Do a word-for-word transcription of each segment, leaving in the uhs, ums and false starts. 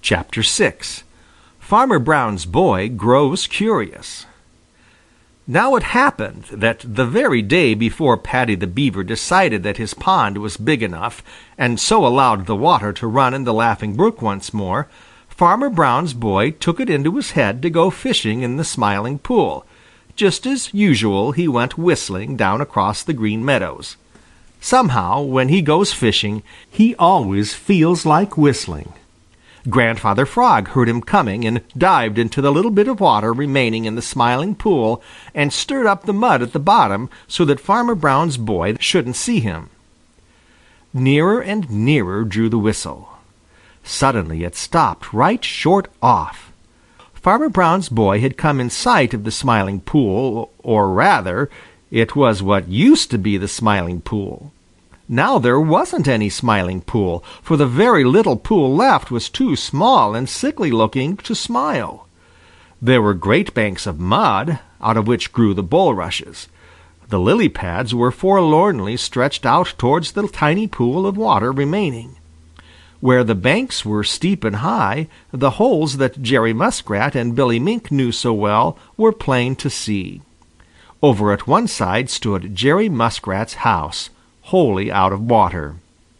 Chapter six. Farmer Brown's Boy Grows Curious. Now it happened that the very day before Paddy the Beaver decided that his pond was big enough and so allowed the water to run in the Laughing Brook once more, Farmer Brown's boy took it into his head to go fishing in the Smiling Pool. Just as usual, he went whistling down across the Green Meadows. Somehow, when he goes fishing, he always feels like whistling. Grandfather Frog heard him coming and dived into the little bit of water remaining in the Smiling Pool and stirred up the mud at the bottom so that Farmer Brown's boy shouldn't see him. Nearer and nearer drew the whistle. Suddenly it stopped right short off. Farmer Brown's boy had come in sight of the Smiling Pool, or rather, it was what used to be the Smiling Pool. Now there wasn't any Smiling Pool, for the very little pool left was too small and sickly-looking to smile. There were great banks of mud, out of which grew the bulrushes. The lily pads were forlornly stretched out towards the tiny pool of water remaining. Where the banks were steep and high, the holes that Jerry Muskrat and Billy Mink knew so well were plain to see. Over at one side stood Jerry Muskrat's house, wholly out of water.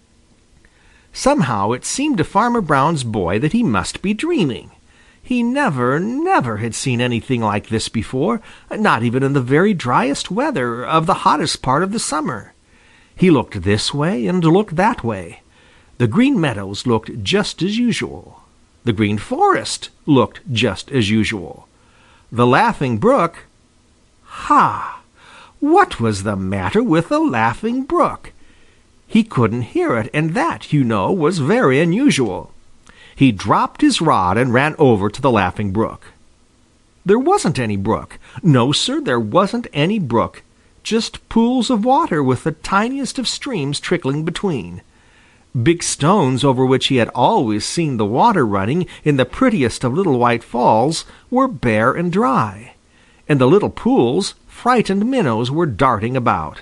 Somehow it seemed to Farmer Brown's boy that he must be dreaming. He never, never had seen anything like this before, not even in the very driest weather of the hottest part of the summer. He looked this way and looked that way. The Green Meadows looked just as usual. The Green Forest looked just as usual. The Laughing Brook— Ha! What was the matter with the Laughing Brook? He couldn't hear it, and that, you know, was very unusual. He dropped his rod and ran over to the Laughing Brook. There wasn't any brook. No, sir, there wasn't any brook. Just pools of water with the tiniest of streams trickling between. Big stones over which he had always seen the water running in the prettiest of little white falls were bare and dry. In the little pools, frightened minnows were darting about.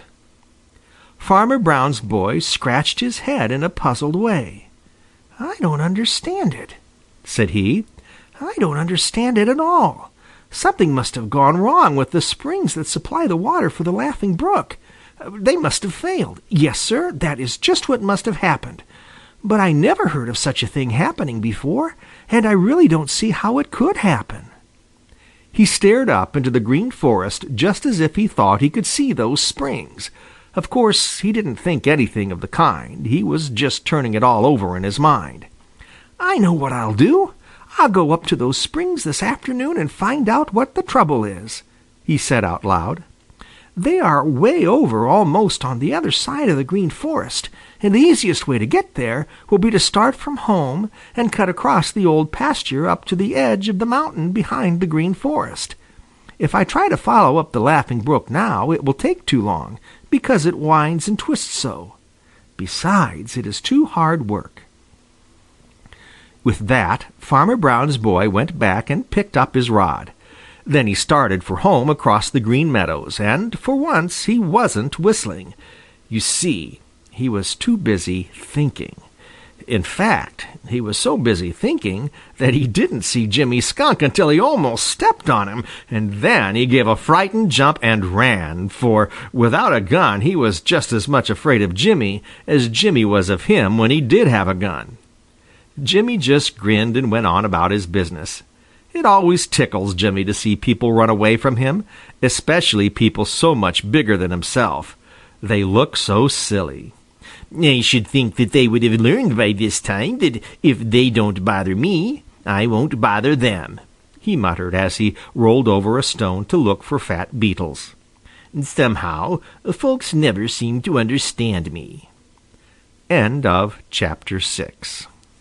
Farmer Brown's boy scratched his head in a puzzled way. "I don't understand it," said he. "I don't understand it at all. Something must have gone wrong with the springs that supply the water for the Laughing Brook. They must have failed. Yes, sir, that is just what must have happened. But I never heard of such a thing happening before, and I really don't see how it could happen." He stared up into the Green Forest just as if he thought he could see those springs. Of course, he didn't think anything of the kind. He was just turning it all over in his mind. "I know what I'll do. I'll go up to those springs this afternoon and find out what the trouble is," he said out loud. "They are way over almost on the other side of the Green Forest, and the easiest way to get there will be to start from home and cut across the Old Pasture up to the edge of the mountain behind the Green Forest. If I try to follow up the Laughing Brook now, it will take too long, because it winds and twists so. Besides, it is too hard work." With that, Farmer Brown's boy went back and picked up his rod. Then he started for home across the Green Meadows, and for once he wasn't whistling. You see, he was too busy thinking. In fact, he was so busy thinking that he didn't see Jimmy Skunk until he almost stepped on him, and then he gave a frightened jump and ran, for without a gun he was just as much afraid of Jimmy as Jimmy was of him when he did have a gun. Jimmy just grinned and went on about his business. It always tickles Jimmy to see people run away from him, especially people so much bigger than himself. They look so silly. "I should think that they would have learned by this time that if they don't bother me, I won't bother them," he muttered as he rolled over a stone to look for fat beetles. "Somehow, folks never seem to understand me." End of chapter six.